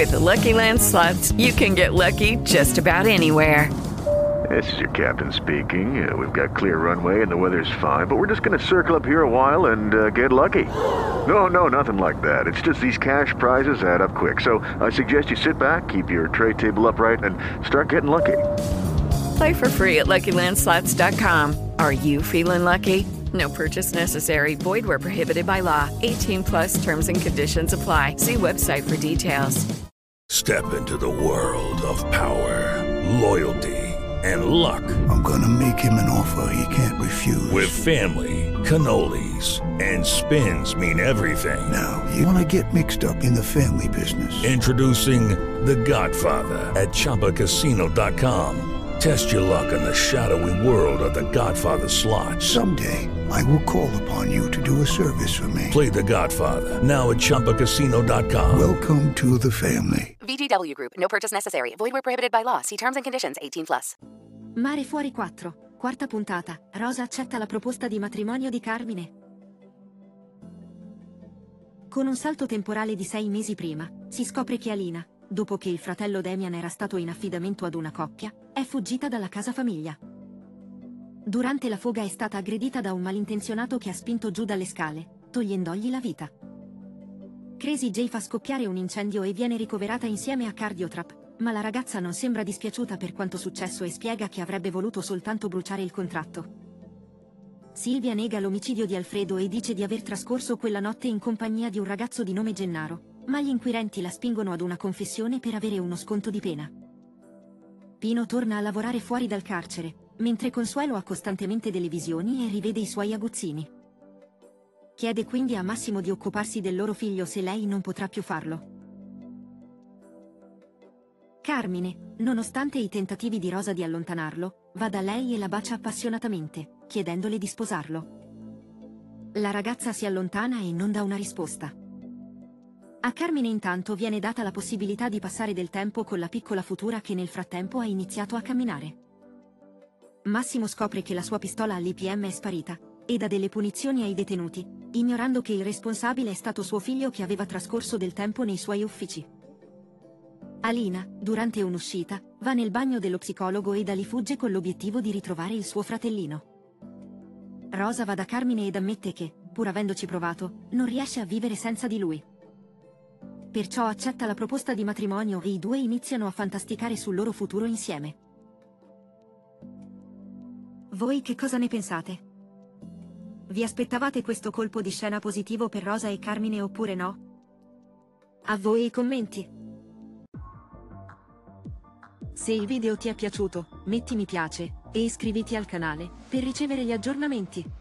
With Lucky Land Slots, you can get lucky just about anywhere. This is your captain speaking. We've got clear runway and the weather's fine, but we're just going to circle up here a while and get lucky. No, nothing like that. It's just these cash prizes add up quick. So I suggest you sit back, keep your tray table upright, and start getting lucky. Play for free at LuckyLandSlots.com. Are you feeling lucky? No purchase necessary. Void where prohibited by law. 18 plus terms and conditions apply. See website for details. Step into the world of power, loyalty, and luck. I'm gonna make him an offer he can't refuse. With family, cannolis, and spins mean everything. Now, you wanna get mixed up in the family business. Introducing The Godfather at ChumbaCasino.com. Test your luck in the shadowy world of The Godfather slot. Someday, I will call upon you to do a service for me. Play The Godfather, now at ChumbaCasino.com. Welcome to the family. VGW Group. No purchase necessary. Void where prohibited by law. See terms and conditions. 18 plus. Mare fuori 4, quarta puntata. Rosa accetta la proposta di matrimonio di Carmine. Con un salto temporale di 6 mesi prima, si scopre che Alina, dopo che il fratello Damian era stato in affidamento ad una coppia, è fuggita dalla casa famiglia. Durante la fuga è stata aggredita da un malintenzionato che ha spinto giù dalle scale, togliendogli la vita. Crazy J fa scoppiare un incendio e viene ricoverata insieme a Cardiotrap, ma la ragazza non sembra dispiaciuta per quanto successo e spiega che avrebbe voluto soltanto bruciare il contratto. Silvia nega l'omicidio di Alfredo e dice di aver trascorso quella notte in compagnia di un ragazzo di nome Gennaro, ma gli inquirenti la spingono ad una confessione per avere uno sconto di pena. Pino torna a lavorare fuori dal carcere, mentre Consuelo ha costantemente delle visioni e rivede i suoi aguzzini. Chiede quindi a Massimo di occuparsi del loro figlio se lei non potrà più farlo. Carmine, nonostante i tentativi di Rosa di allontanarlo, va da lei e la bacia appassionatamente, chiedendole di sposarlo. La ragazza si allontana e non dà una risposta. A Carmine intanto viene data la possibilità di passare del tempo con la piccola futura che nel frattempo ha iniziato a camminare. Massimo scopre che la sua pistola all'IPM è sparita, e dà delle punizioni ai detenuti, ignorando che il responsabile è stato suo figlio che aveva trascorso del tempo nei suoi uffici. Alina, durante un'uscita, va nel bagno dello psicologo e da lì fugge con l'obiettivo di ritrovare il suo fratellino. Rosa va da Carmine ed ammette che, pur avendoci provato, non riesce a vivere senza di lui. Perciò accetta la proposta di matrimonio e i due iniziano a fantasticare sul loro futuro insieme. Voi che cosa ne pensate? Vi aspettavate questo colpo di scena positivo per Rosa e Carmine oppure no? A voi i commenti! Se il video ti è piaciuto, metti mi piace e iscriviti al canale per ricevere gli aggiornamenti.